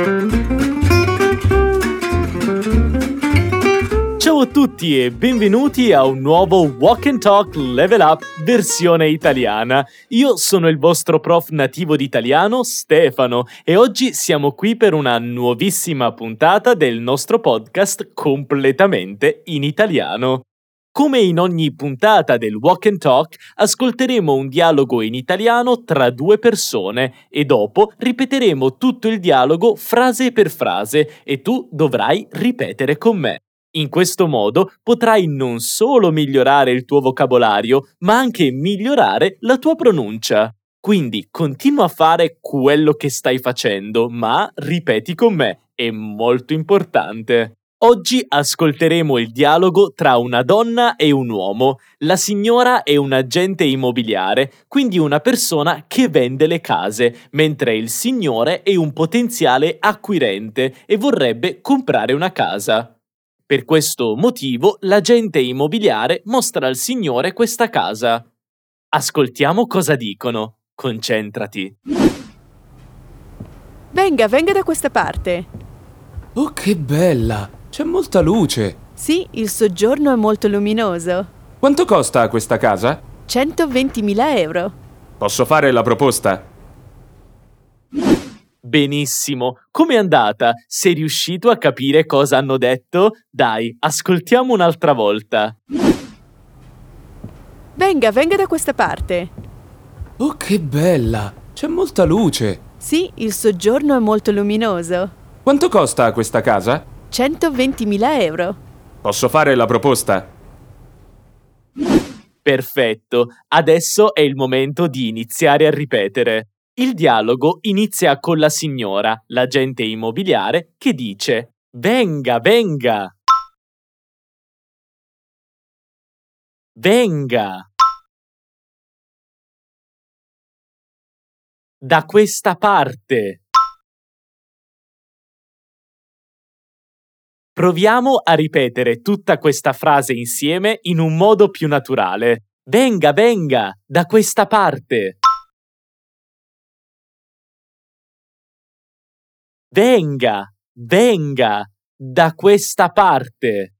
Ciao a tutti e benvenuti a un nuovo Walk and Talk Level Up versione italiana. Io sono il vostro prof nativo di italiano, Stefano, e oggi siamo qui per una nuovissima puntata del nostro podcast completamente in italiano. Come in ogni puntata del Walk and Talk, ascolteremo un dialogo in italiano tra due persone e dopo ripeteremo tutto il dialogo frase per frase e tu dovrai ripetere con me. In questo modo potrai non solo migliorare il tuo vocabolario, ma anche migliorare la tua pronuncia. Quindi continua a fare quello che stai facendo, ma ripeti con me, è molto importante. Oggi ascolteremo il dialogo tra una donna e un uomo. La signora è un agente immobiliare, quindi una persona che vende le case, mentre il signore è un potenziale acquirente e vorrebbe comprare una casa. Per questo motivo l'agente immobiliare mostra al signore questa casa. Ascoltiamo cosa dicono. Concentrati. Venga da questa parte. Oh, che bella! C'è molta luce. Sì, il soggiorno è molto luminoso. Quanto costa questa casa? 120.000 euro. Posso fare la proposta? Benissimo, com'è andata? Sei riuscito a capire cosa hanno detto? Dai, ascoltiamo un'altra volta. Venga da questa parte. Oh, che bella! C'è molta luce. Sì, il soggiorno è molto luminoso. Quanto costa questa casa? 120.000 euro. Posso fare la proposta? Perfetto, adesso è il momento di iniziare a ripetere. Il dialogo inizia con la signora, l'agente immobiliare, che dice: Venga! Venga! Da questa parte! Proviamo a ripetere tutta questa frase insieme in un modo più naturale. Venga! Da questa parte! Venga! Da questa parte!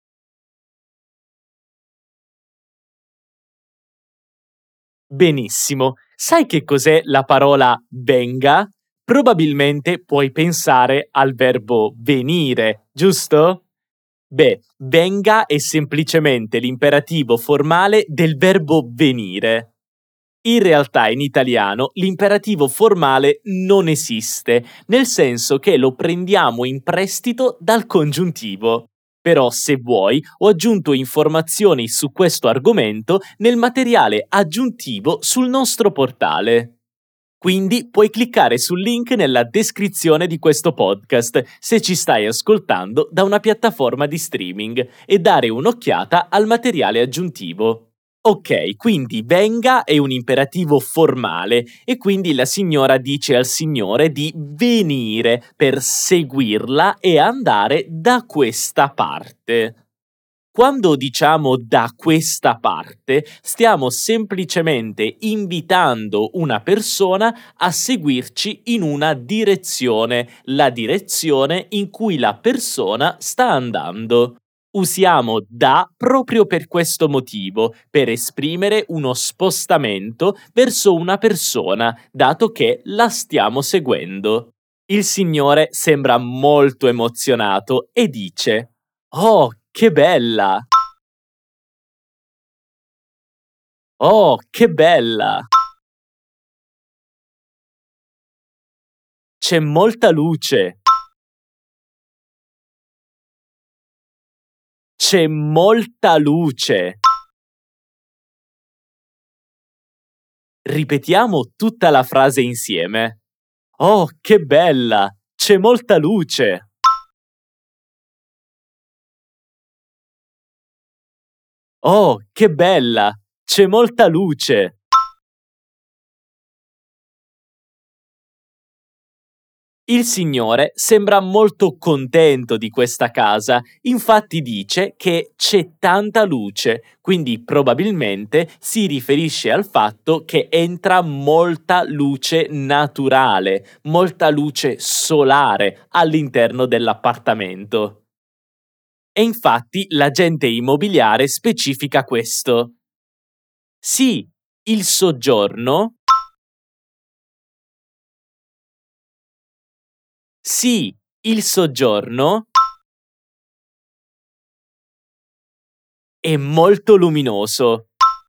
Benissimo. Sai che cos'è la parola venga? Probabilmente puoi pensare al verbo venire, giusto? Beh, venga è semplicemente l'imperativo formale del verbo venire. In realtà in italiano l'imperativo formale non esiste, nel senso che lo prendiamo in prestito dal congiuntivo. Però se vuoi ho aggiunto informazioni su questo argomento nel materiale aggiuntivo sul nostro portale. Quindi puoi cliccare sul link nella descrizione di questo podcast se ci stai ascoltando da una piattaforma di streaming e dare un'occhiata al materiale aggiuntivo. Ok, quindi venga è un imperativo formale e quindi la signora dice al signore di venire per seguirla e andare da questa parte. Quando diciamo da questa parte, stiamo semplicemente invitando una persona a seguirci in una direzione, la direzione in cui la persona sta andando. Usiamo da proprio per questo motivo, per esprimere uno spostamento verso una persona, dato che la stiamo seguendo. Il signore sembra molto emozionato e dice: Oh, che bella! Oh, che bella! C'è molta luce! C'è molta luce! Ripetiamo tutta la frase insieme. Oh, che bella! C'è molta luce! Oh, che bella! C'è molta luce! Il signore sembra molto contento di questa casa, infatti dice che c'è tanta luce, quindi probabilmente si riferisce al fatto che entra molta luce naturale, molta luce solare all'interno dell'appartamento. E infatti l'agente immobiliare specifica questo. Sì, il soggiorno. Sì, il soggiorno è molto luminoso.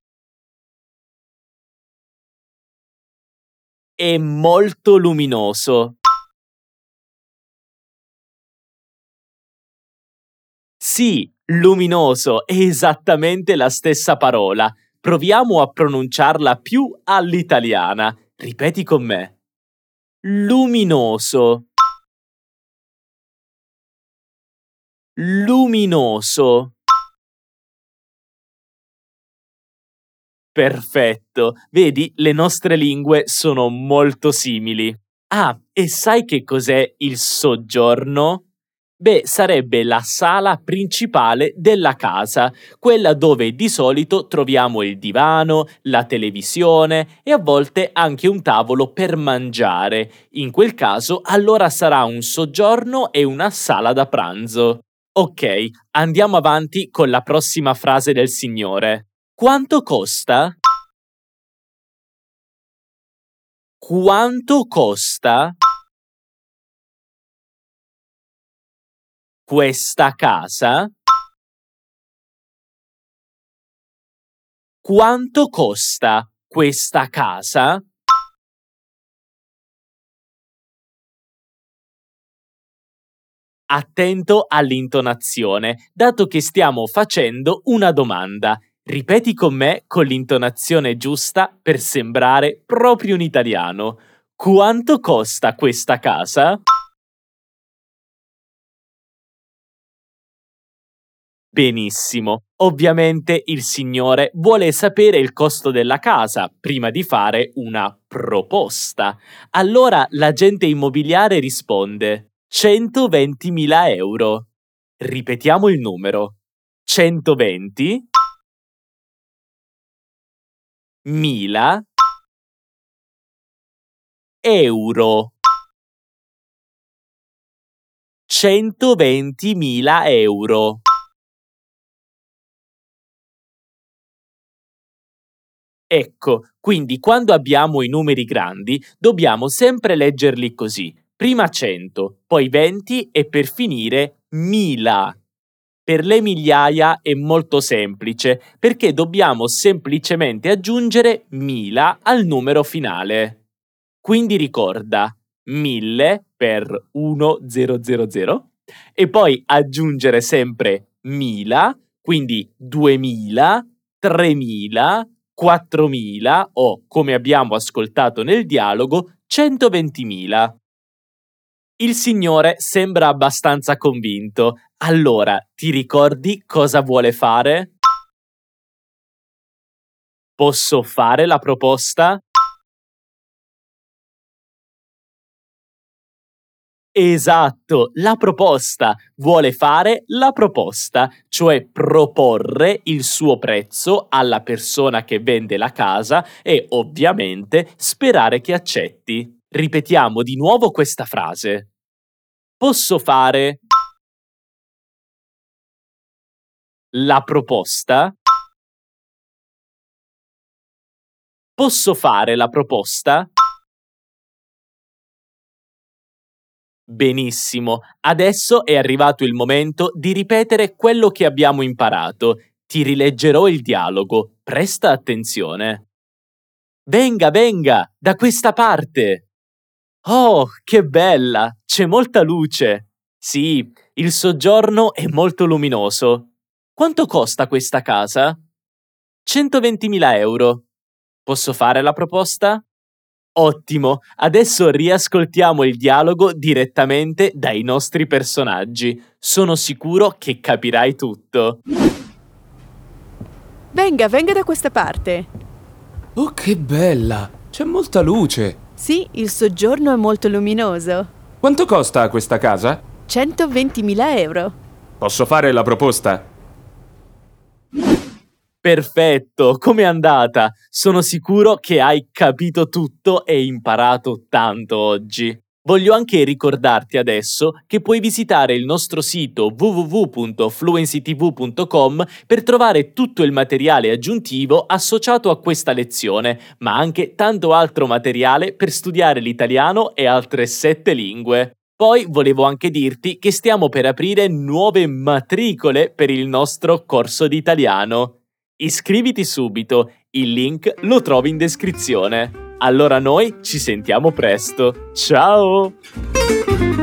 È molto luminoso. Sì, luminoso è esattamente la stessa parola. Proviamo a pronunciarla più all'italiana. Ripeti con me. Luminoso. Luminoso. Perfetto. Vedi, le nostre lingue sono molto simili. Ah, e sai che cos'è il soggiorno? Beh, sarebbe la sala principale della casa, quella dove di solito troviamo il divano, la televisione e a volte anche un tavolo per mangiare. In quel caso, allora sarà un soggiorno e una sala da pranzo. Ok, andiamo avanti con la prossima frase del signore. Quanto costa? Quanto costa questa casa? Quanto costa questa casa? Attento all'intonazione, dato che stiamo facendo una domanda. Ripeti con me con l'intonazione giusta per sembrare proprio un italiano. Quanto costa questa casa? Benissimo. Ovviamente il signore vuole sapere il costo della casa prima di fare una proposta. Allora l'agente immobiliare risponde 120.000 euro. Ripetiamo il numero. 120.000 euro. 120.000 euro. Ecco, quindi quando abbiamo i numeri grandi dobbiamo sempre leggerli così. Prima 100, poi 20 e per finire 1000. Per le migliaia è molto semplice perché dobbiamo semplicemente aggiungere 1000 al numero finale. Quindi ricorda 1000 per 1000 e poi aggiungere sempre 1000, quindi 2000, 3000, 4000 o, come abbiamo ascoltato nel dialogo, 120.000. Il signore sembra abbastanza convinto. Allora, ti ricordi cosa vuole fare? Posso fare la proposta? Esatto, la proposta. Vuole fare la proposta, cioè proporre il suo prezzo alla persona che vende la casa e ovviamente sperare che accetti. Ripetiamo di nuovo questa frase. Posso fare la proposta? Posso fare la proposta? Benissimo, adesso è arrivato il momento di ripetere quello che abbiamo imparato. Ti rileggerò il dialogo, presta attenzione. Venga, venga, da questa parte. Oh, che bella, c'è molta luce. Sì, il soggiorno è molto luminoso. Quanto costa questa casa? 120.000 euro. Posso fare la proposta? Ottimo, adesso riascoltiamo il dialogo direttamente dai nostri personaggi. Sono sicuro che capirai tutto. Venga, venga da questa parte. Oh, che bella! C'è molta luce. Sì, il soggiorno è molto luminoso. Quanto costa questa casa? 120.000 euro. Posso fare la proposta? Perfetto, com'è andata? Sono sicuro che hai capito tutto e imparato tanto oggi. Voglio anche ricordarti adesso che puoi visitare il nostro sito www.fluencytv.com per trovare tutto il materiale aggiuntivo associato a questa lezione, ma anche tanto altro materiale per studiare l'italiano e altre 7 lingue. Poi volevo anche dirti che stiamo per aprire nuove matricole per il nostro corso di italiano. Iscriviti subito, il link lo trovi in descrizione. Allora noi ci sentiamo presto. Ciao!